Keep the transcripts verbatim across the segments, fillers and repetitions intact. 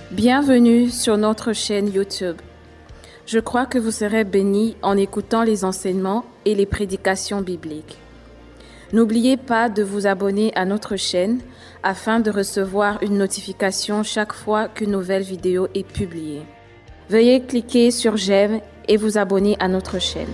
Bienvenue sur notre chaîne YouTube. Je crois que vous serez bénis en écoutant les enseignements et les prédications bibliques. N'oubliez pas de vous abonner à notre chaîne afin de recevoir une notification chaque fois qu'une nouvelle vidéo est publiée. Veuillez cliquer sur j'aime et vous abonner à notre chaîne.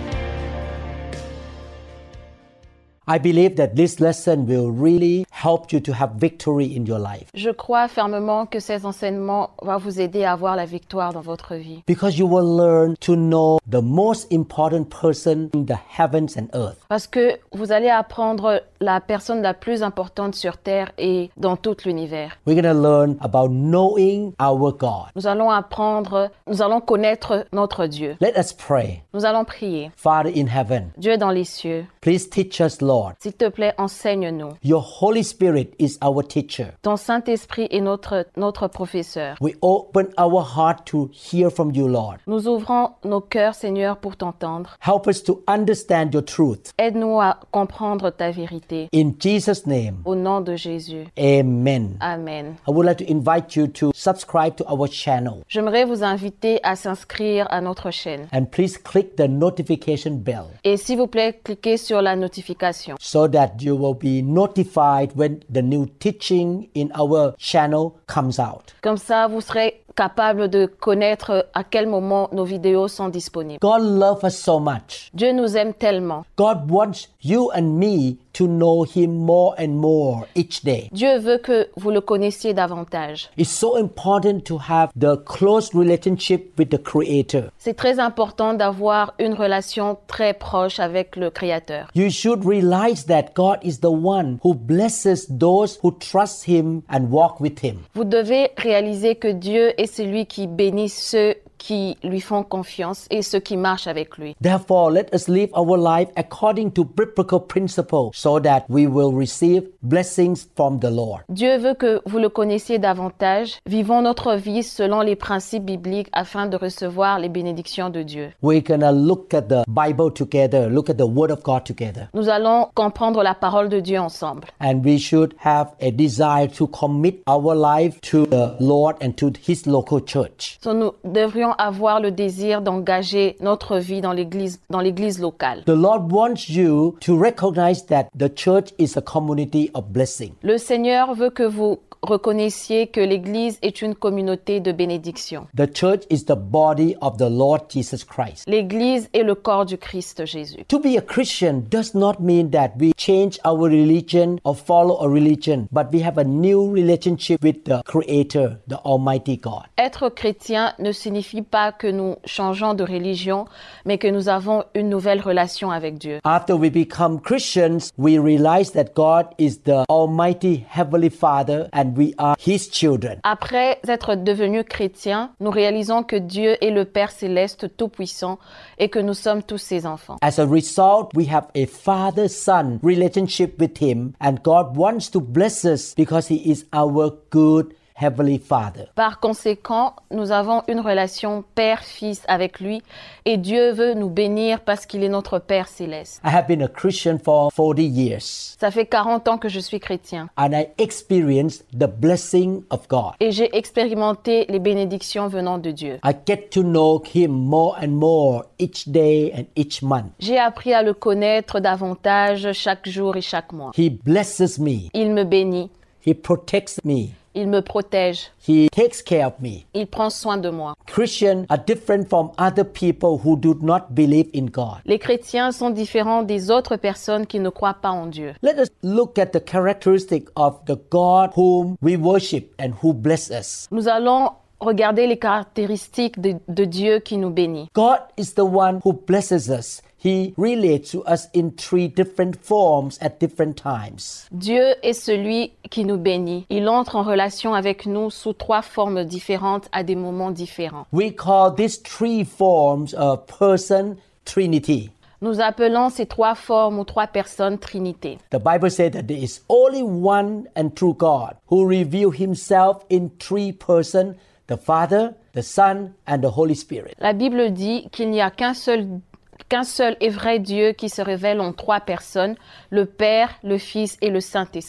I believe that this lesson will really help you to have victory in your life. Je crois fermement que ces enseignements vont vous aider à avoir la victoire dans votre vie. Because you will learn to know the most important person in the heavens and earth. Parce que vous allez apprendre la personne la plus importante sur terre et dans tout l'univers. We're going to learn about knowing our God. Nous allons apprendre, nous allons connaître notre Dieu. Let us pray. Nous allons prier. Father in heaven, Dieu dans les cieux, please teach us, Lord. s'il te plaît, enseigne-nous. Your Holy Spirit is our teacher. Ton Saint-Esprit est notre, notre professeur. We open our heart to hear from you, Lord. Nous ouvrons nos cœurs, Seigneur, pour t'entendre. Help us to understand your truth. Aide-nous à comprendre ta vérité. In Jesus' name, Au nom de Jésus. amen. Amen. I would like to invite you to subscribe to our channel. J'aimerais vous inviter à s'inscrire à notre chaîne. And please click the notification bell Et s'il vous plaît, cliquez sur la notification. so that you will be notified when the new teaching in our channel comes out. Comme ça, vous serez capable de connaître à quel moment nos vidéos sont disponibles. God loves us so much. Dieu nous aime tellement. God wants you and me to know Him more and more each day. Dieu veut que vous le connaissiez davantage. It's so important to have the close relationship with the Creator. C'est très important d'avoir une relation très proche avec le Créateur. You should realize that God is the one who blesses those who trust Him and walk with Him. Vous devez réaliser que Dieu est celui qui bénit ceux qui lui font confiance et ceux qui marchent avec lui. Therefore, let us live our life according to biblical principles so that we will receive blessings from the Lord. Dieu veut que vous le connaissiez davantage. Vivons notre vie selon les principes bibliques afin de recevoir les bénédictions de Dieu. We're going to look at the Bible together, look at the Word of God together. Nous allons comprendre la parole de Dieu ensemble. And we should have a desire to commit our life to the Lord and to His local church. So, nous devrions avoir le désir d'engager notre vie dans l'église, dans l'église locale. The Lord wants you to recognize that the church is a community of blessing. Le Seigneur veut que vous reconnaissiez que l'église est une communauté de bénédiction. The church is the body of the Lord Jesus Christ. L'église est le corps du Christ Jésus. To be a Christian does not mean that we change our religion or follow a religion, but we have a new relationship with the Creator, the Almighty God. Être chrétien ne signifie pas que nous changeons de religion, mais que nous avons une nouvelle relation avec Dieu. After we become Christians, we realize that God is the Almighty Heavenly Father and we are His children. Après être devenus chrétiens, nous réalisons que Dieu est le Père céleste tout-puissant et que nous sommes tous ses enfants. As a result, we have a father-son relationship with Him, and God wants to bless us because He is our good Heavenly Father. Par conséquent, nous avons une relation père-fils avec lui et Dieu veut nous bénir parce qu'il est notre Père céleste. I have been a Christian for forty years, Ça fait quarante ans que je suis chrétien and I experienced the blessing of God. et j'ai expérimenté les bénédictions venant de Dieu. I get to know Him more and more each day and each month. J'ai appris à le connaître davantage chaque jour et chaque mois. He blesses me. Il me bénit, He protects me. il me protège, He takes care of me. il prend soin de moi. Christians are different from other people who do not believe in God. Les chrétiens sont différents des autres personnes qui ne croient pas en Dieu. Let us look at the characteristic of the God whom we worship and who bless us. Nous allons regarder les caractéristiques de, de Dieu qui nous bénit. God is the one who blesses us. He relates to us in three different forms at different times. Dieu est celui qui nous bénit. Il entre en relation avec nous sous trois formes différentes à des moments différents. We call these three forms a person trinity. Nous appelons ces trois formes ou trois personnes Trinité. The Bible says that there is only one and true God who reveals Himself in three persons, the Father, the Son, and the Holy Spirit. La Bible dit qu'il n'y a qu'un seul qu'un seul et vrai Dieu qui se révèle en trois personnes, le Père, le Fils et le Saint-Esprit.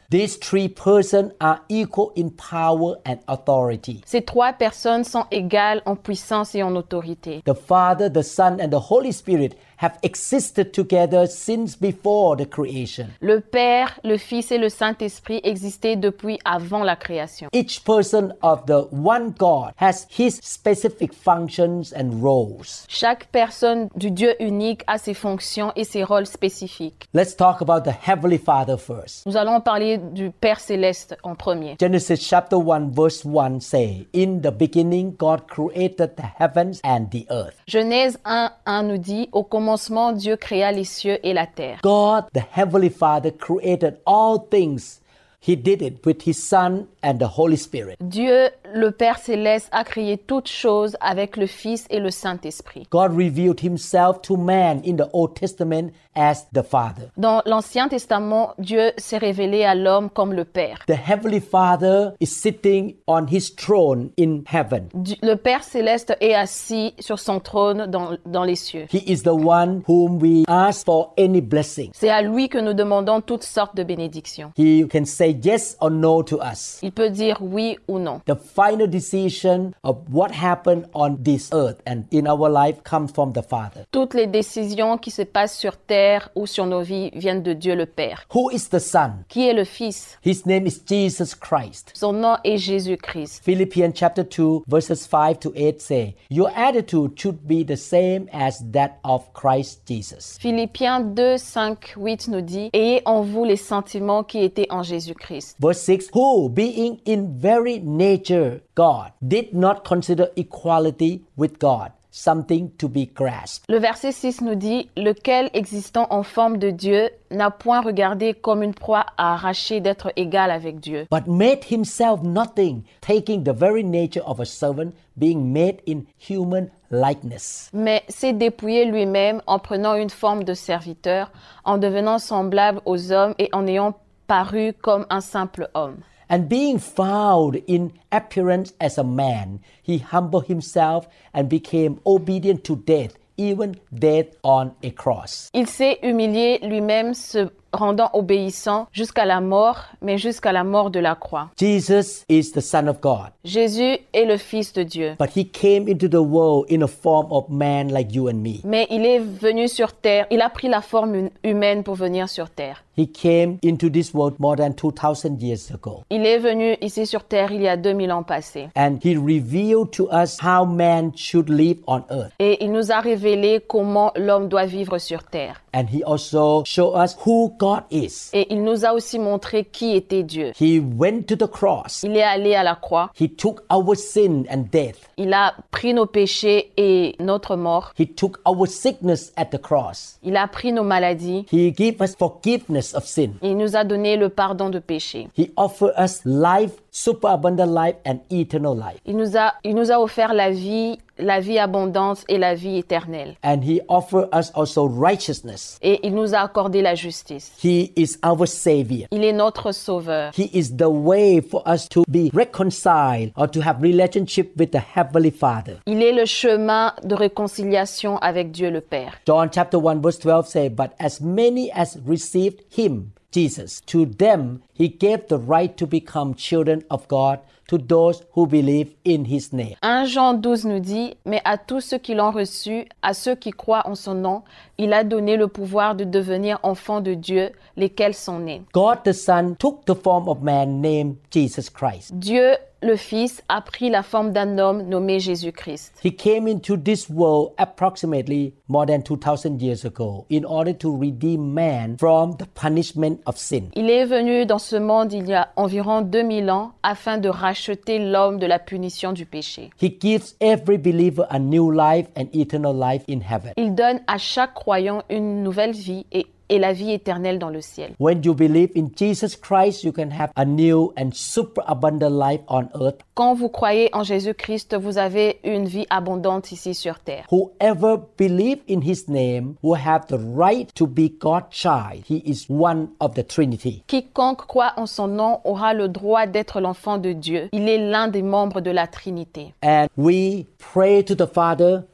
These three persons are equal in power and authority. Ces trois personnes sont égales en puissance et en autorité. The Father, the Son, and the Holy Spirit have existed together since before the creation. Le Père, le Fils et le Saint-Esprit existaient depuis avant la création. Each person of the one God has his specific functions and roles. Chaque personne du Dieu unique a ses fonctions et ses rôles spécifiques. Let's talk about the Heavenly Father first. Nous allons parler du Père céleste en premier. Genesis chapter one verse one say, "In the beginning God created the heavens and the earth." Genèse un, un nous dit, au commencement Dieu créa les cieux et la terre. God, the Heavenly Father, created all things. He did it with His Son and the Holy Spirit. Dieu, le Père céleste, a créé toutes choses avec le Fils et le Saint-Esprit. God revealed Himself to man in the Old Testament as the Father. Dans l'Ancien Testament, Dieu s'est révélé à l'homme comme le Père. The Heavenly Father is sitting on His throne in heaven. Le Père céleste est assis sur son trône dans, dans les cieux. He is the one whom we ask for any blessing. C'est à lui que nous demandons toutes sortes de bénédictions. He can say yes or no to us. Il peut dire oui ou non. The final decision of what happened on this earth and in our life comes from the Father. Toutes les décisions qui se passent sur terre ou sur nos vies viennent de Dieu le Père. Who is the Son? Qui est le Fils? His name is Jesus Christ. Son nom est Jésus-Christ. Philippians chapter two verses five to eight say, "Your attitude should be the same as that of Christ Jesus." Philippiens deux, cinq, huit nous dit, ayez en vous les sentiments qui étaient en Jésus-Christ. Verse six, "Who, being in very nature God, did not consider equality with God something to be grasped." Le verset six nous dit, lequel existant en forme de Dieu n'a point regardé comme une proie à arracher d'être égal avec Dieu. But made himself nothing, taking the very nature of a servant, being made in human likeness. Mais s'est dépouillé lui-même en prenant une forme de serviteur, en devenant semblable aux hommes et en ayant paru comme un simple homme. And being found in appearance as a man, he humbled himself and became obedient to death, even death on a cross. Il s'est humilié lui-même, se rendant obéissant jusqu'à la mort, mais jusqu'à la mort de la croix. Jesus is the Son of God. Jésus est le Fils de Dieu. But he came into the world in a form of man like you and me. Mais il est venu sur terre, il a pris la forme humaine pour venir sur terre. He came into this world more than two thousand years ago. Il est venu ici sur terre il y a deux mille ans passés. And he revealed to us how man should live on earth. Et il nous a révélé comment l'homme doit vivre sur terre. And he also showed us who God is. Et il nous a aussi montré qui était Dieu. He went to the cross. Il est allé à la croix. He took our sin and death. Il a pris nos péchés et notre mort. He took our sickness at the cross. Il a pris nos maladies. He gave us forgiveness of sin. Il nous a donné le pardon de péché. He offered us life, superabundant life and eternal life. Il nous a, il nous a offert la vie, la vie abondante et la vie éternelle. And he offered us also righteousness. Et il nous a accordé la justice. He is our Savior. Il est notre sauveur. He is the way for us to be reconciled or to have relationship with the Heavenly Father. Il est le chemin de réconciliation avec Dieu le Père. John chapter one verse twelve say, "But as many as received him," Jesus, "to them he gave the right to become children of God, to those who believe in his name." un Jean douze nous dit, mais à tous ceux qui l'ont reçu, à ceux qui croient en son nom, il a donné le pouvoir de devenir enfants de Dieu, lesquels sont nés. God the Son took the form of man named Jesus Christ. Dieu, le Fils, a pris la forme d'un homme nommé Jésus-Christ. He came into this world approximately more than two thousand years ago in order to redeem man from the punishment of sin. Il est venu dans ce monde il y a environ deux mille ans afin de racheter l'homme de la punition du péché. He gives every believer a new life and eternal life in heaven. Il donne à chaque croyant une nouvelle vie et et la vie éternelle dans le ciel. When you believe in Jesus Christ, you can have a new and superabundant life on earth. Quand vous croyez en Jésus-Christ, vous avez une vie abondante ici sur terre. Whoever believes in his name will have the right to be God's child. He is one of the Trinity. Quiconque croit en son nom aura le droit d'être l'enfant de Dieu. Il est l'un des membres de la Trinité. And we pray to the Father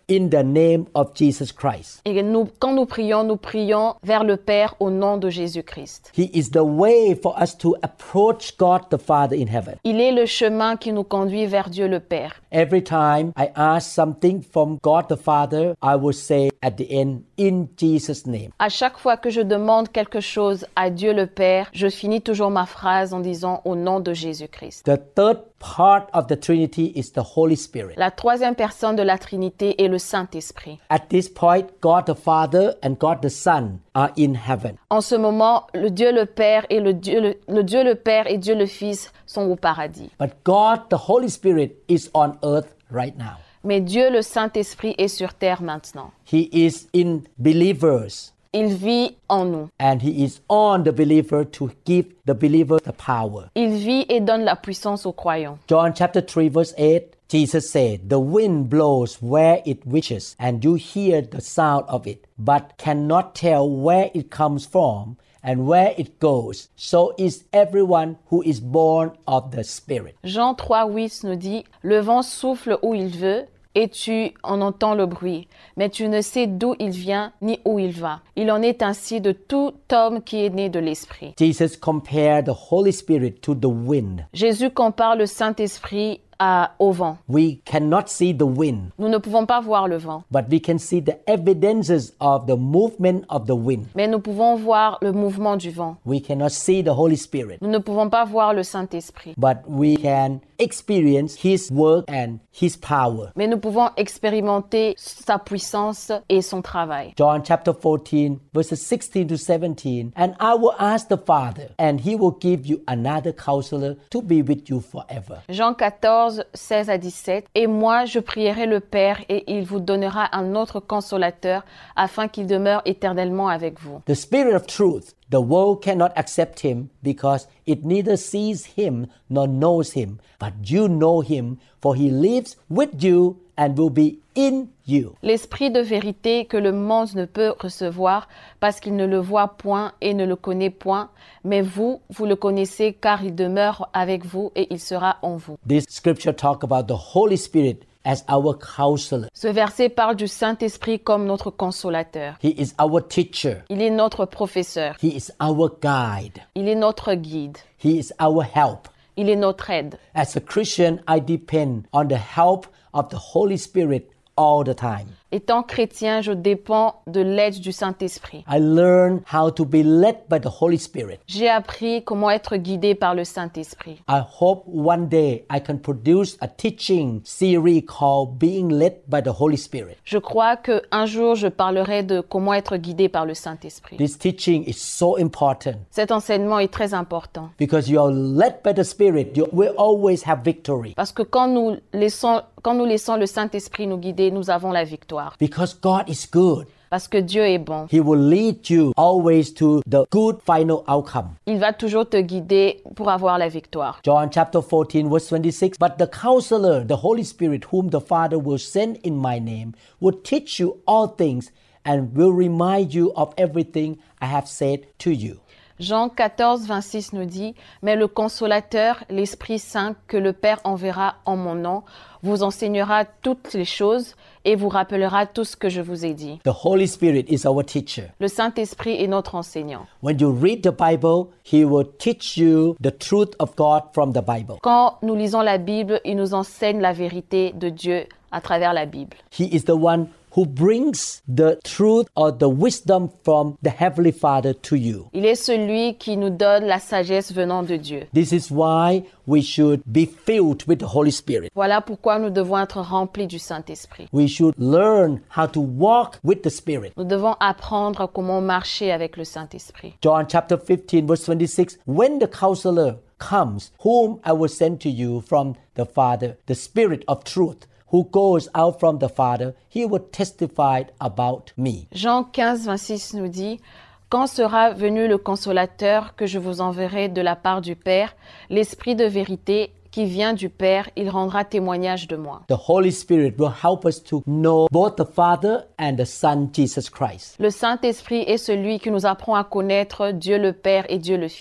in the name of Jesus Christ. Et nous, quand nous prions, nous prions vers le Père au nom de Jésus-Christ. He is the way for us to approach God the Father in heaven. Il est le chemin qui nous conduit vers Dieu le Père. Every time I ask something from God the Father, I will say at the end, in Jesus' name. À chaque fois que je demande quelque chose à Dieu le Père, je finis toujours ma phrase en disant au nom de Jésus-Christ. The third part of the Trinity is the Holy Spirit. La troisième personne de la Trinité est le Saint-Esprit. At this point, God the Father and God the Son are in heaven. En ce moment, le Dieu le Père et le Dieu le, le Dieu le Père et Dieu le Fils sont au paradis. But God the Holy Spirit is on earth right now. Mais Dieu le Saint-Esprit est sur terre maintenant. He is in believers. Il vit en nous. And he is on the believer to give the believer the power. Il vit et donne la puissance aux croyants. John chapter three verse eight, Jesus said, "The wind blows where it wishes, and you hear the sound of it, but cannot tell where it comes from and where it goes. So is everyone who is born of the Spirit." Jean trois huit nous dit, « Le vent souffle où il veut, et tu en entends le bruit, mais tu ne sais d'où il vient ni où il va. Il en est ainsi de tout homme qui est né de l'Esprit. » Jesus compared the Holy Spirit to the wind. Jésus compare le Saint-Esprit à, au vent. We cannot see the wind, Nous ne pouvons pas voir le vent, but we can see the evidences of the movement of the wind. mais nous pouvons voir le mouvement du vent. We cannot see the Holy Spirit, Nous ne pouvons pas voir le Saint-Esprit, but we can experience His work and His power. mais nous pouvons expérimenter sa puissance et son travail. John chapter fourteen, verses sixteen to seventeen. "And I will ask the Father, and He will give you another counselor to be with you forever." Jean quatorze, seize à dix-sept. « Et moi, je prierai le Père, et il vous donnera un autre consolateur, afin qu'il demeure éternellement avec vous. The Spirit of truth, the world cannot accept Him because it neither sees Him nor knows Him. But you know Him, for He lives with you and will be in you." L'Esprit de vérité que le monde ne peut recevoir, parce qu'il ne le voit point et ne le connaît point, mais vous, vous le connaissez, car il demeure avec vous et il sera en vous. This scripture talk about the Holy Spirit as our counselor. Ce verset parle du Saint-Esprit comme notre consolateur. He is our teacher. Il est notre professeur. He is our guide. Il est notre guide. He is our help. Il est notre aide. As a Christian, I depend on the help of the Holy Spirit all the time. Étant chrétien, je dépends de l'aide du Saint-Esprit. I learn how to be led by the Holy Spirit. J'ai appris comment être guidé par le Saint-Esprit. I hope one day I can produce a teaching series called Being Led by the Holy Spirit. Je crois qu'un jour, je parlerai de comment être guidé par le Saint-Esprit. This teaching is so important Cet enseignement est très important. because you are led by the Spirit, you will always have victory. Parce que quand nous laissons, quand nous laissons le Saint-Esprit nous guider, nous avons la victoire. Because God is good. Parce que Dieu est bon. He will lead you always to the good final outcome. Il va toujours te guider pour avoir la victoire. John chapter fourteen verse twenty-six, "But the counselor, the Holy Spirit, whom the Father will send in my name, will teach you all things and will remind you of everything I have said to you." Jean quatorze, vingt-six nous dit, « Mais le consolateur, l'Esprit Saint, que le Père enverra en mon nom, vous enseignera toutes les choses et vous rappellera tout ce que je vous ai dit. » The Holy Spirit is our teacher. Le Saint-Esprit est notre enseignant. When you read the Bible, He will teach you the truth of God from the Bible. Quand nous lisons la Bible, il nous enseigne la vérité de Dieu à travers la Bible. He is the one who brings the truth or the wisdom from the Heavenly Father to you. Il est celui qui nous donne la sagesse venant de Dieu. This is why we should be filled with the Holy Spirit. Voilà pourquoi nous devons être remplis du Saint-Esprit. We should learn how to walk with the Spirit. Nous devons apprendre comment marcher avec le Saint-Esprit. John chapter fifteen verse twenty-six, "When the counselor comes, whom I will send to you from the Father, the Spirit of truth, who goes out from the Father, he will testify about me." Jean quinze, vingt-six nous dit, « Quand sera venu le consolateur que je vous enverrai de la part du Père, l'Esprit de vérité qui vient du Père, il rendra témoignage de moi. » The Holy Spirit will help us to know both the Father and the Son, Jesus Christ. Le Saint-Esprit est celui qui nous apprend à connaître Dieu le Père et Dieu le Fils.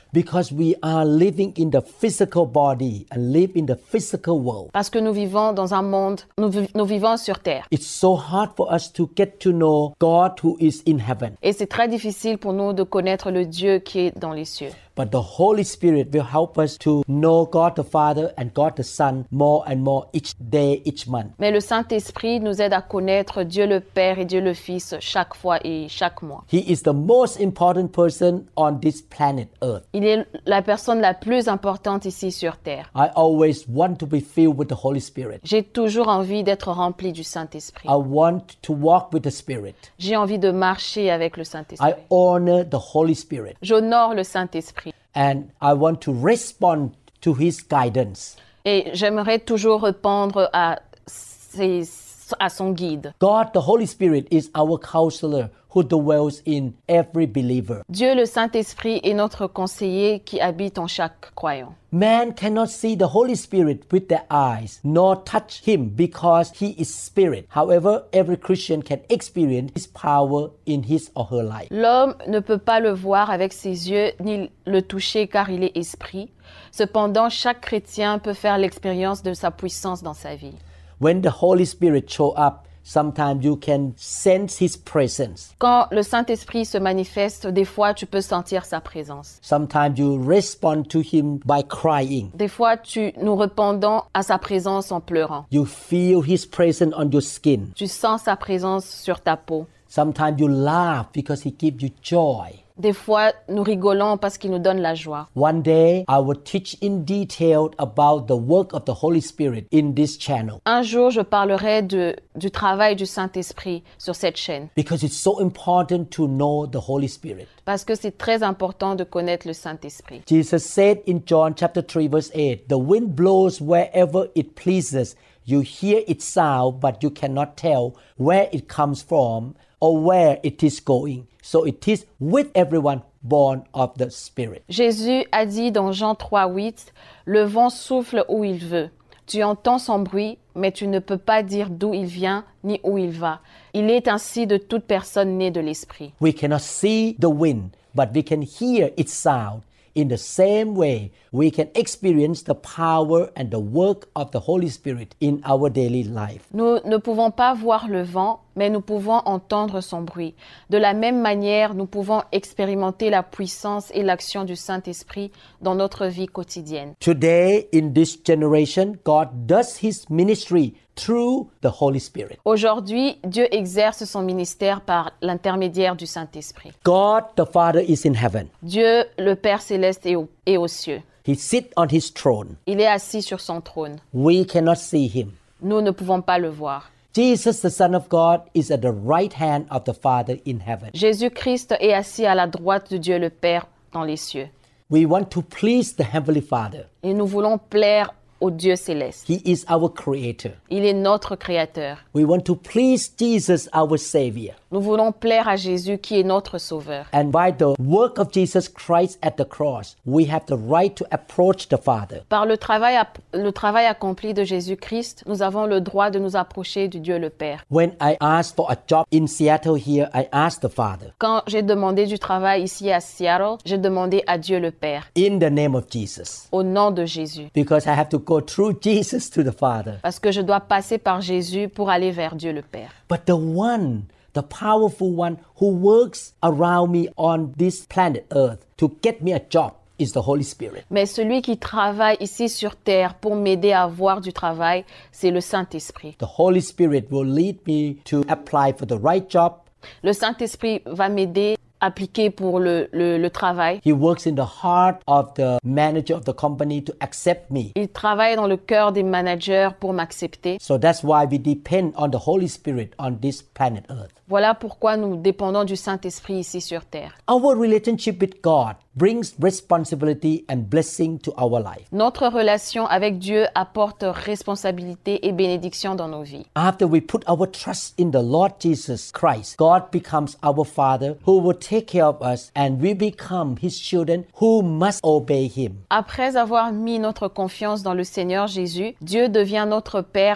Because we are living in the physical body and live in the physical world. Parce que nous vivons dans un monde, nous, vi- nous vivons sur terre. It's so hard for us to get to know God who is in heaven. Et c'est très difficile pour nous de connaître le Dieu qui est dans les cieux. But the Holy Spirit will help us to know God the Father and God the Son more and more each day, each month. Mais le Saint-Esprit nous aide à connaître Dieu le Père et Dieu le Fils chaque fois et chaque mois. He is the most important person on this planet Earth. Il est la personne la plus importante ici sur terre. I always want to be filled with the Holy Spirit. J'ai toujours envie d'être rempli du Saint-Esprit. I want to walk with the Spirit. J'ai envie de marcher avec le Saint-Esprit. I honor the Holy Spirit. J'honore le Saint-Esprit. And I want to respond to His guidance. Et j'aimerais toujours répondre à, ses, à son guide. God, the Holy Spirit, is our counselor who dwells in every believer. Dieu le Saint-Esprit est notre conseiller qui habite en chaque croyant. Man cannot see the Holy Spirit with their eyes, nor touch Him because He is Spirit. However, every Christian can experience His power in his or her life. L'homme ne peut pas le voir avec ses yeux ni le toucher car il est esprit. Cependant, chaque chrétien peut faire l'expérience de sa puissance dans sa vie. When the Holy Spirit show up, sometimes you can sense His presence. Quand le Saint-Esprit se manifeste, des fois tu peux sentir sa présence. Sometimes you respond to Him by crying. Des fois, tu, nous répondons à sa présence en pleurant. You feel His presence on your skin. Tu sens sa présence sur ta peau. Sometimes you laugh because He gives you joy. Des fois, nous rigolons parce qu'il nous donne la joie. One day, I will teach in detail about the work of the Holy Spirit in this channel. Un jour, je parlerai de, du travail du Saint-Esprit sur cette chaîne. Because it's so important to know the Holy Spirit. Parce que c'est très important de connaître le Saint-Esprit. Jesus said in John chapter three verse eight, "The wind blows wherever it pleases. You hear its sound, but you cannot tell where it comes from or where it is going. So it is with everyone born of the Spirit." Jésus a dit dans Jean trois huit, « Le vent souffle où il veut. Tu entends son bruit, mais tu ne peux pas dire d'où il vient ni où il va. Il est ainsi de toute personne née de l'Esprit. » We cannot see the wind, but we can hear its sound. In the same way, we can experience the power and the work of the Holy Spirit in our daily life. Nous ne pouvons pas voir le vent, mais nous pouvons entendre son bruit. De la même manière, nous pouvons expérimenter la puissance et l'action du Saint-Esprit dans notre vie quotidienne. Today, in this generation, God does His ministry through the Holy Spirit. Aujourd'hui, Dieu exerce son ministère par l'intermédiaire du Saint-Esprit. God the Father is in heaven. Dieu, le Père céleste, est, au, est aux cieux. He sits on His throne. Il est assis sur son trône. We cannot see Him. Nous ne pouvons pas le voir. Jesus, the Son of God, is at the right hand of the Father in heaven. Jésus-Christ est assis à la droite de Dieu le Père dans les cieux. We want to please the Heavenly Father. Et nous voulons plaire au Dieu céleste. He is our Creator. Il est notre Créateur. We want to please Jesus, our Savior. Nous voulons plaire à Jésus qui est notre Sauveur. And by the work of Jesus Christ at the cross, we have the right to approach the Father. Par le travail, le travail accompli de Jésus-Christ, nous avons le droit de nous approcher du Dieu le Père. When I asked for a job in Seattle here, I asked the Father. Quand j'ai demandé du travail ici à Seattle, j'ai demandé à Dieu le Père. In the name of Jesus. Au nom de Jésus. Because I have to go through Jesus to the Father. Parce que je dois passer par Jésus pour aller vers Dieu le Père. But the one, the powerful one who works around me on this planet Earth to get me a job is the Holy Spirit. Mais celui qui travaille ici sur terre pour m'aider à avoir du travail, c'est le Saint-Esprit. The Holy Spirit will lead me to apply for the right job. Le Saint-Esprit va m'aider à appliquer pour le, le, le travail. He works in the heart of the manager of the company to accept me. Il travaille dans le cœur des managers pour m'accepter. So that's why we depend on the Holy Spirit on this planet Earth. Voilà pourquoi nous dépendons du Saint-Esprit ici sur terre. Our relationship with God brings responsibility and blessing to our life. Notre relation avec Dieu apporte responsabilité et bénédiction dans nos vies. After we put our trust in the Lord Jesus Christ, God becomes our Father who will take care of us, and we become His children who must obey Him. Après avoir mis notre confiance dans le Seigneur Jésus, Dieu devient notre Père qui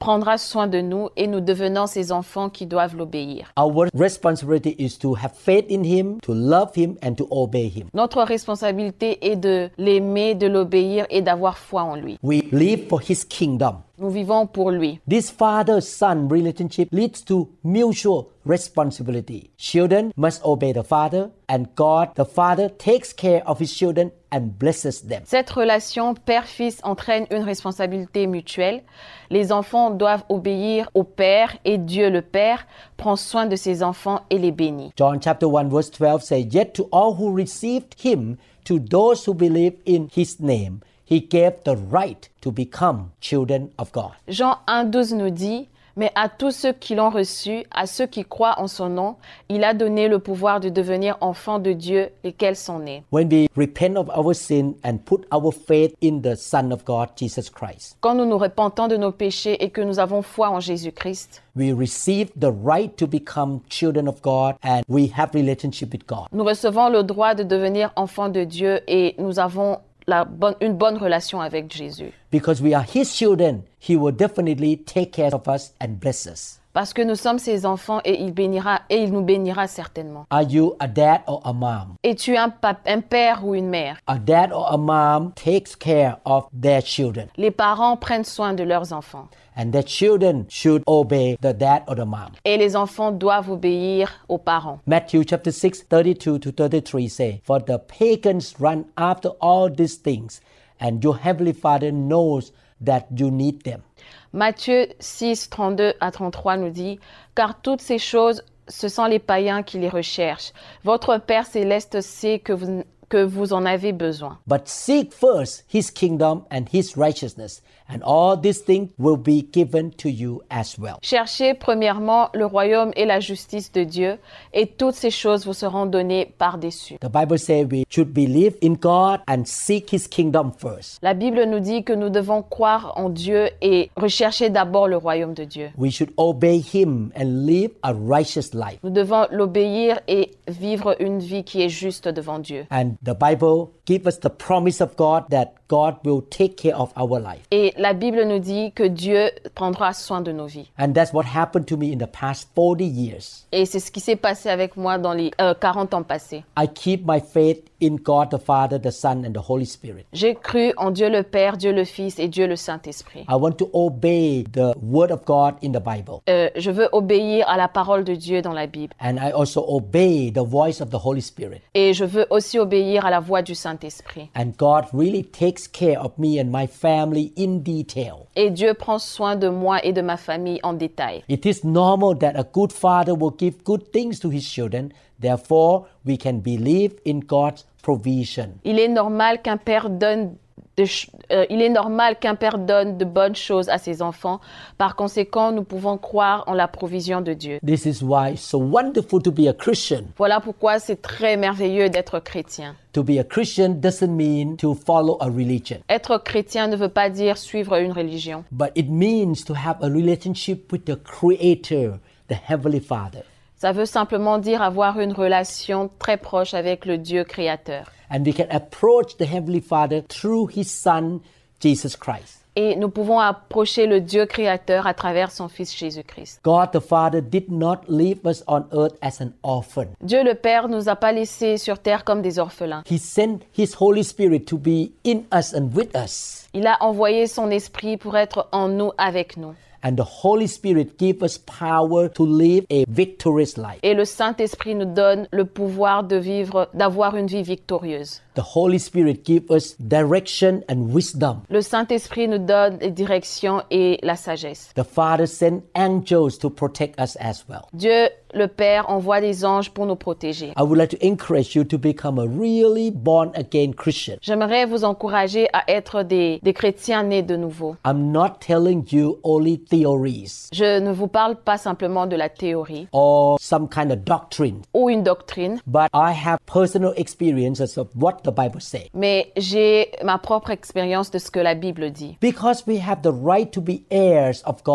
prendra soin de nous et nous devenons ses enfants qui doivent l'obéir. Our responsibility is to have faith in Him, to love Him, and to obey Him. Notre responsabilité est de l'aimer, de l'obéir et d'avoir foi en lui. We live for His kingdom. Nous vivons pour lui. This father-son relationship leads to mutual responsibility. Children must obey the father, and God, the Father, takes care of His children and blesses them. Cette relation père-fils entraîne une responsabilité mutuelle. Les enfants doivent obéir au Père et Dieu le Père prend soin de ses enfants et les bénit. John chapter one verse twelve says, "Yet to all who received Him, to those who believe in His name, He gave the right to become children of God." Jean un douze nous dit, mais à tous ceux qui l'ont reçu, à ceux qui croient en son nom, il a donné le pouvoir de devenir enfants de Dieu, lesquels sont nés. When we repent of our sin and put our faith in the Son of God, Jesus Christ, Quand nous nous repentons de nos péchés et que nous avons foi en Jésus-Christ, we receive the right to become children of God and we have relationship with God. nous recevons le droit de devenir enfants de Dieu et nous avons la bonne, une bonne relation avec Jésus. Because we are His children, He will definitely take care of us and bless us. Parce que nous sommes ses enfants et il bénira et il nous bénira certainement. Are you a dad or a mom? Es-tu un, pap- un père ou une mère? A dad or a mom takes care of their children, Les parents prennent soin de leurs enfants and their children should obey the dad or the mom. et les enfants doivent obéir aux parents. Matthew chapter six, thirty-two to thirty-three say, "For the pagans run after all these things, and your heavenly Father knows that you need them." Matthieu six, trente-deux à trente-trois nous dit « Car toutes ces choses, ce sont les païens qui les recherchent. Votre Père céleste sait que vous, que vous en avez besoin. But seek first His kingdom and His righteousness, and all these things will be given to you as well." Cherchez premièrement le royaume et la justice de Dieu, et toutes ces choses vous seront données par-dessus. The Bible says we should believe in God and seek His kingdom first. La Bible nous dit que nous devons croire en Dieu et rechercher d'abord le royaume de Dieu. We should obey Him and live a righteous life. Nous devons l'obéir et vivre une vie qui est juste devant Dieu. And the Bible gives us the promise of God that God will take care of our life. Et la Bible nous dit que Dieu prendra soin de nos vies. And that's what happened to me in the past forty years. Et c'est ce qui s'est passé avec moi dans les euh, quarante ans passés. I keep my faith in God the Father, the Son, and the Holy Spirit. J'ai cru en Dieu le Père, Dieu le Fils et Dieu le Saint-Esprit. I want to obey the Word of God in the Bible. Euh, je veux obéir à la parole de Dieu dans la Bible. And I also obey the voice of the Holy Spirit. Et je veux aussi obéir à la voix du Saint-Esprit. And God really takes care of me and my family in detail. Et Dieu prend soin de moi et de ma famille en détail. It is normal that a good father will give good things to his children. Therefore, we can believe in God's provision. Il est normal qu'un père donne de ch- euh, il est normal qu'un père donne de bonnes choses à ses enfants. Par conséquent, nous pouvons croire en la provision de Dieu. This is why it's so wonderful to be a Christian. Voilà pourquoi c'est très merveilleux d'être chrétien. To be a Christian doesn't mean to follow a religion, Être chrétien ne veut pas dire suivre une religion, but it means to have a relationship with the Creator, the Heavenly Father. ça veut simplement dire avoir une relation très proche avec le Dieu créateur. And we can approach the Heavenly Father through His Son, Jesus Christ. Et nous pouvons approcher le Dieu créateur à travers son Fils Jésus-Christ. God the Father did not leave us on earth as an orphan. Dieu le Père nous a pas laissés sur terre comme des orphelins. He sent His Holy Spirit to be in us and with us. Il a envoyé son esprit pour être en nous, avec nous. And the Holy Spirit gives us power to live a victorious life. Et le Saint-Esprit nous donne le pouvoir de vivre, d'avoir une vie victorieuse. The Holy Spirit gives us direction and wisdom. Le Saint-Esprit nous donne les directions et la sagesse. The Father sent angels to protect us as well. Dieu, le Père, envoie des anges pour nous protéger. I would like to encourage you to become a really born-again Christian. J'aimerais vous encourager à être des, des chrétiens nés de nouveau. I'm not telling you only theories Je ne vous parle pas simplement de la théorie or some kind of doctrine, ou une doctrine, but I have personal experiences of what the Bible says. mais j'ai ma propre expérience de ce que la Bible dit. Because we have the right to be heirs of God,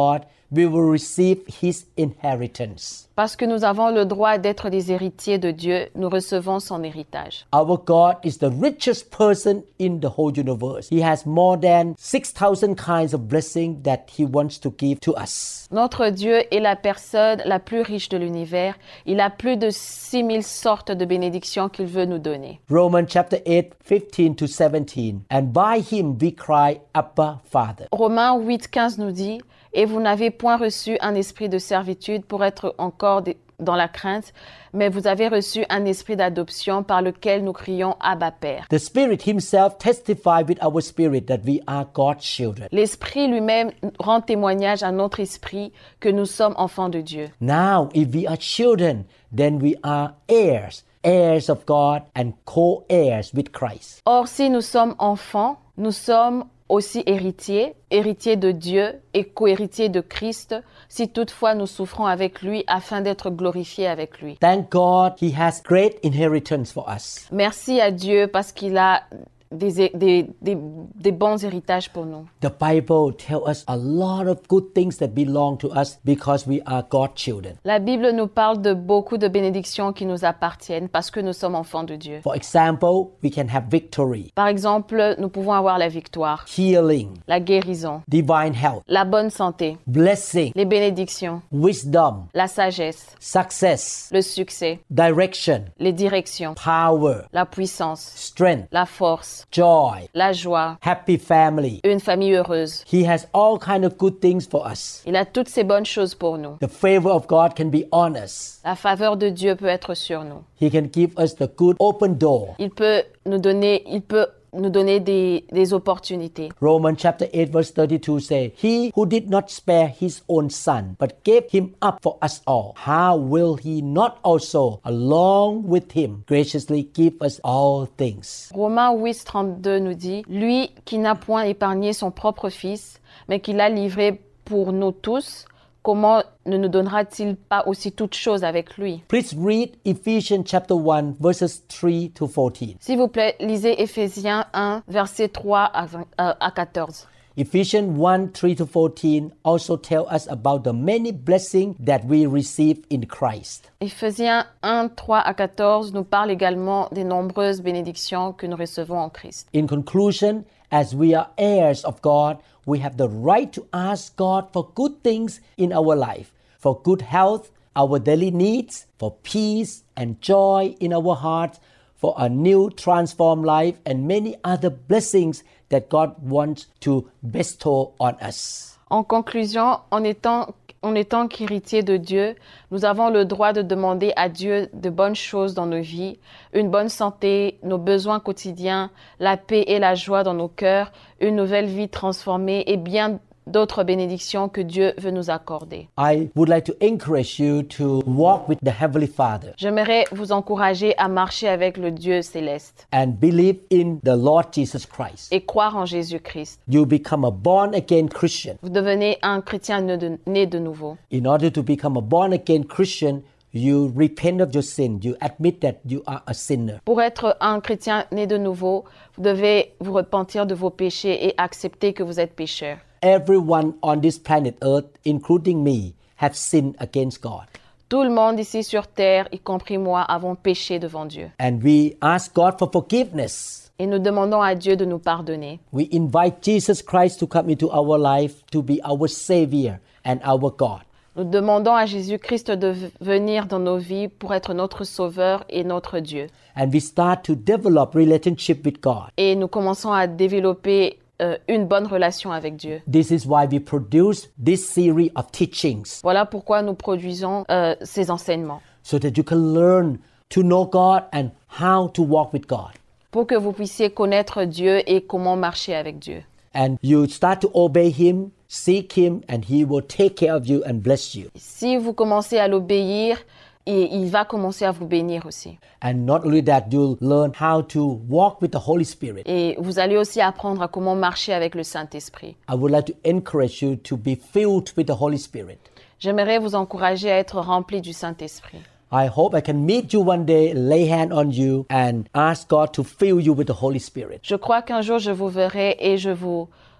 we will receive his inheritance. Parce que nous avons le droit d'être des héritiers de Dieu, nous recevons son héritage. Our God is the richest person in the whole universe. He has more than six thousand kinds of blessing that he wants to give to us. Notre Dieu est la personne la plus riche de l'univers. Il a plus de six mille sortes de bénédictions qu'il veut nous donner. Romans chapter eight, fifteen to seventeen. And by him we cry, Abba, Father. Romains huit, quinze nous dit « Et vous n'avez point reçu un esprit de servitude pour être encore des- dans la crainte, mais vous avez reçu un esprit d'adoption par lequel nous crions « Abba, Père ». The Spirit himself testifies with our spirit that we are God's children. L'Esprit lui-même rend témoignage à notre esprit que nous sommes enfants de Dieu. Now, if we are children, then we are heirs, heirs of God and co-heirs with Christ. Or, si nous sommes enfants, nous sommes aussi héritiers, héritiers de Dieu et co-héritiers de Christ, si toutefois nous souffrons avec lui afin d'être glorifiés avec lui. Thank God he has great inheritance for us. Merci à Dieu parce qu'il a des, des, des, des bons héritages pour nous. The Bible tells us a lot of good things that belong to us because we are God's children. La Bible nous parle de beaucoup de bénédictions qui nous appartiennent parce que nous sommes enfants de Dieu. For example, we can have victory, Par exemple, nous pouvons avoir la victoire, healing, la guérison, divine health, la bonne santé, blessing, les bénédictions, wisdom, la sagesse, success, le succès, direction, les directions, power, la puissance, strength, la force, joy, la joie, happy family. une famille heureuse. He has all kind of good things for us. Il a toutes ces bonnes choses pour nous. The favor of God can be on us. La faveur de Dieu peut être sur nous. He can give us the good open door. Il peut nous donner, il peut nous donner des, des opportunités. Romans chapter eight verse thirty-two say, He who did not spare his own son, but gave him up for us all, how will he not also, along with him, graciously give us all things? Romains huit, trente-deux nous dit « Lui qui n'a point épargné son propre fils, mais qui l'a livré pour nous tous, comment ne nous donnera-t-il pas aussi toutes choses avec lui ?» Please read Ephesians chapter one verses three to fourteen. S'il vous plaît, lisez Éphésiens un, versets trois à vingt, euh, à quatorze. Ephesians one, three to fourteen also tell us about the many blessings that we receive in Christ. Éphésiens un, trois à quatorze nous parle également des nombreuses bénédictions que nous recevons en Christ. In conclusion, as we are heirs of God, we have the right to ask God for good things in our life, for good health, our daily needs, for peace and joy in our hearts, for a new transformed life, and many other blessings that God wants to bestow on us. En conclusion, en étant, en étant qu'héritiers de Dieu, nous avons le droit de demander à Dieu de bonnes choses dans nos vies, une bonne santé, nos besoins quotidiens, la paix et la joie dans nos cœurs, une nouvelle vie transformée et bien d'autres bénédictions que Dieu veut nous accorder. I would like to encourage you to walk with the Heavenly Father J'aimerais vous encourager à marcher avec le Dieu céleste and believe in the Lord Jesus Christ. et croire en Jésus-Christ. You become a born-again Christian. Vous devenez un chrétien né de, né de nouveau. In order to become a born-again Christian, you repent of your sin. You admit that you are a sinner. Pour être un chrétien né de nouveau, vous devez vous repentir de vos péchés et accepter que vous êtes pécheur. Everyone on this planet Earth, including me, have sinned against God. Tout le monde ici sur terre, y compris moi, avons péché devant Dieu. And we ask God for forgiveness. Et nous demandons à Dieu de nous pardonner. We invite Jesus Christ to come into our life to be our Savior and our God. Nous demandons à Jésus-Christ de v- venir dans nos vies pour être notre sauveur et notre Dieu. And we start to develop relationship with God. Et nous commençons à développer euh, une bonne relation avec Dieu. This is why we produce this series of teachings, Voilà pourquoi nous produisons euh, ces enseignements. so that you can learn to know God and how to walk with God. Pour que vous puissiez connaître Dieu et comment marcher avec Dieu. And you start to obey Him, seek Him, and He will take care of you and bless you. Si vous commencez à l'obéir, et il va commencer à vous bénir aussi. And not only that, you'll learn how to walk with the Holy Spirit. Et vous allez aussi apprendre à comment marcher avec le Saint-Esprit. I would like to encourage you to be filled with the Holy Spirit. J'aimerais vous encourager à être rempli du Saint-Esprit. I hope I can meet you one day, lay hand on you, and ask God to fill you with the Holy Spirit. Je crois qu'un jour je vous verrai et je vous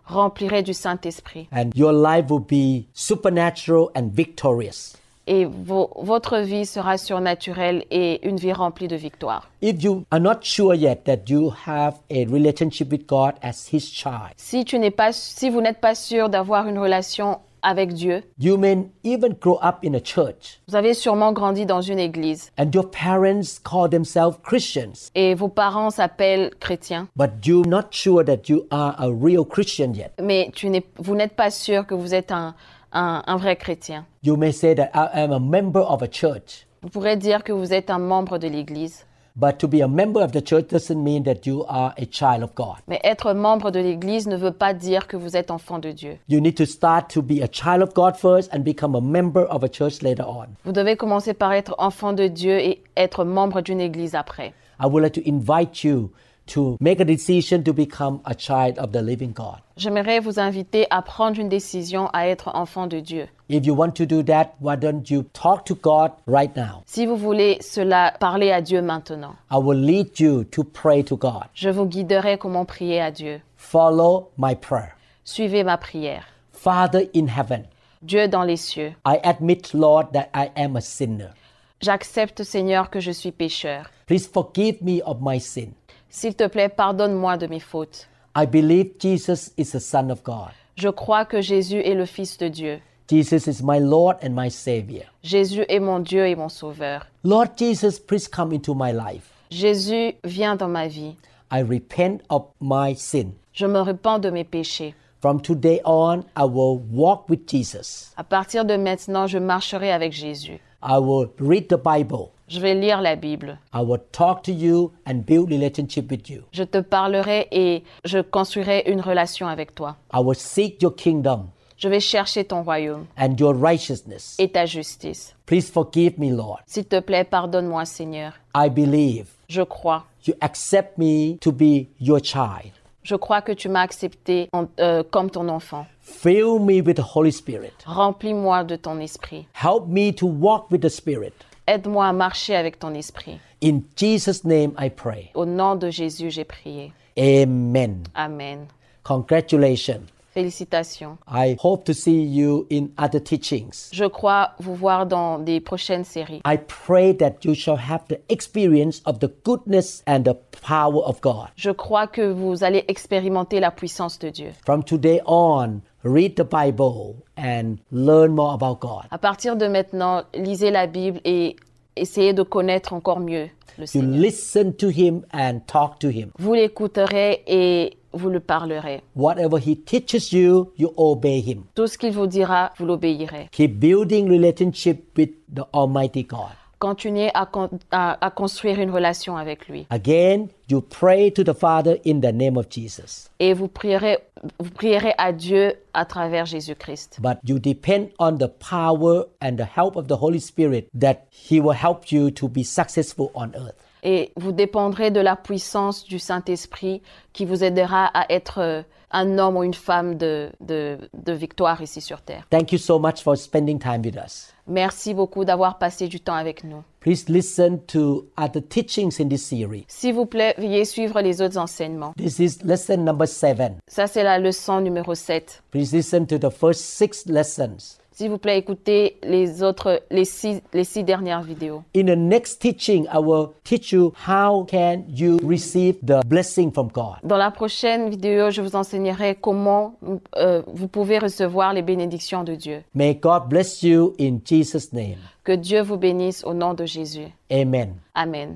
remplirez du Saint-Esprit. And your life will be supernatural and victorious. Et vo- votre vie sera surnaturelle et une vie remplie de victoire. If you are not sure yet that you have a relationship with God as His child, Si, tu n'es pas, si vous n'êtes pas sûr d'avoir une relation avec Dieu, you may even grow up in a church vous avez sûrement grandi dans une église and your parents call themselves Christians, et vos parents s'appellent chrétiens, but you're not sure that you are a real Christian yet. mais tu n'es, vous n'êtes pas sûr que vous êtes un, un, un vrai chrétien. You may say that I am a member of a church, Vous pourrez dire que vous êtes un membre de l'église, but to be a member of the church doesn't mean that you are a child of God. mais être membre de l'église ne veut pas dire que vous êtes enfant de Dieu. You need to start to be a child of God first and become a member of a church later on. Vous devez commencer par être enfant de Dieu et être membre d'une église après. I would like to invite you to make a decision to become a child of the living God. J'aimerais vous inviter à prendre une décision à être enfant de Dieu. If you want to do that, why don't you talk to God right now? Si vous voulez cela, parlez à Dieu maintenant. I will lead you to pray to God. Je vous guiderai comment prier à Dieu. Follow my prayer. Suivez ma prière. Father in heaven, Dieu dans les cieux, I admit, Lord, that I am a sinner. j'accepte, Seigneur, que je suis pécheur. Please forgive me of my sin. S'il te plaît, pardonne-moi de mes fautes. I believe Jesus is the Son of God. Je crois que Jésus est le Fils de Dieu. Jesus is my Lord and my Savior. Jésus est mon Dieu et mon Sauveur. Lord Jesus, please come into my life. Jésus, viens dans ma vie. I repent of my sin. Je me repens de mes péchés. From today on, I will walk with Jesus. À partir de maintenant, je marcherai avec Jésus. I will read the Bible. Je vais lire la Bible. I will talk to you and build relationship with you. Je te parlerai et je construirai une relation avec toi. I will seek your kingdom Je vais chercher ton royaume and your righteousness. et ta justice. Please forgive me, Lord. S'il te plaît, pardonne-moi, Seigneur. I believe Je crois. you accept me to be your child. Je crois que tu m'as accepté en- euh, comme ton enfant. Fill me with the Holy Spirit. Remplis-moi de ton esprit. Help me to walk with the Spirit. Aide-moi à marcher avec ton esprit. In Jesus' name I pray. Au nom de Jésus, j'ai prié. Amen. Amen. Congratulations. Félicitations. I hope to see you in other teachings. Je crois vous voir dans des prochaines séries. I pray that you shall have the experience of the goodness and the power of God. Je crois que vous allez expérimenter la puissance de Dieu. From today on, read the Bible and learn more about God. À partir de maintenant, lisez la Bible et essayez de connaître encore mieux le You Seigneur. listen to Him and talk to Him. Vous l'écouterez et vous le parlerez. Whatever He teaches you, you obey Him. Tout ce qu'il vous dira, vous l'obéirez. Keep building relationship with the Almighty God. Continuez à, con- à, à construire une relation avec lui. Again, you pray to the Father in the name of Jesus. Et vous prierez, vous prierez à Dieu à travers Jésus-Christ. But you depend on the power and the help of the Holy Spirit that He will help you to be successful on earth. Et vous dépendrez de la puissance du Saint-Esprit qui vous aidera à être euh, un homme ou une femme de, de, de victoire ici sur terre. Thank you so much for spending time with us. Merci beaucoup d'avoir passé du temps avec nous. Please listen to other teachings in this series. S'il vous plaît, veuillez suivre les autres enseignements. This is lesson number seven. Ça, c'est la leçon numéro sept. Please listen to the first six lessons. S'il vous plaît, écoutez les autres, les six, les six dernières vidéos. In the next teaching, I will teach you how can you receive the blessing from God. Dans la prochaine vidéo, je vous enseignerai comment euh, vous pouvez recevoir les bénédictions de Dieu. May God bless you in Jesus' name. Que Dieu vous bénisse au nom de Jésus. Amen. Amen.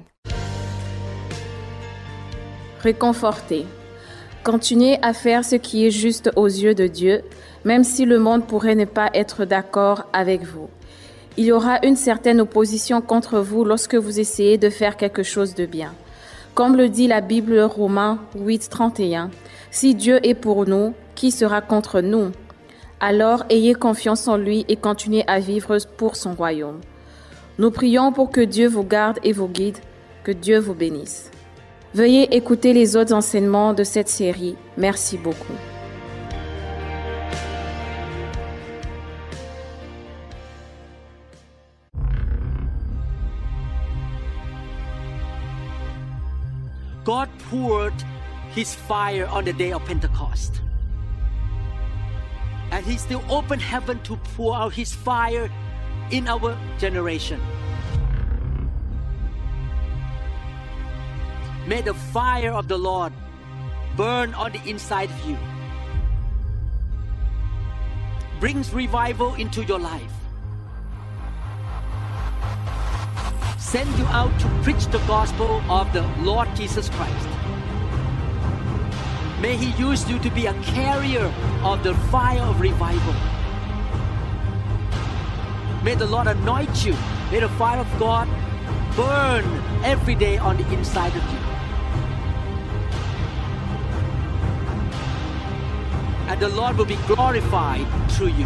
Réconforté. Continuez à faire ce qui est juste aux yeux de Dieu, même si le monde pourrait ne pas être d'accord avec vous. Il y aura une certaine opposition contre vous lorsque vous essayez de faire quelque chose de bien. Comme le dit la Bible, Romains huit, trente et un, « Si Dieu est pour nous, qui sera contre nous? Alors ayez confiance en lui et continuez à vivre pour son royaume. » Nous prions pour que Dieu vous garde et vous guide, que Dieu vous bénisse. Veuillez écouter les autres enseignements de cette série. Merci beaucoup. God poured His fire on the day of Pentecost. And He still open heaven to pour out His fire in our generation. May the fire of the Lord burn on the inside of you. Brings revival into your life. Send you out to preach the gospel of the Lord Jesus Christ. May He use you to be a carrier of the fire of revival. May the Lord anoint you. May the fire of God burn every day on the inside of you. And the Lord will be glorified through you.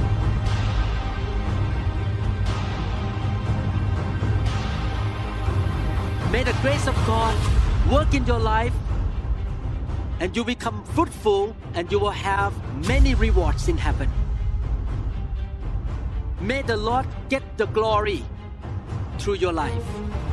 May the grace of God work in your life, and you become fruitful, and you will have many rewards in heaven. May the Lord get the glory through your life.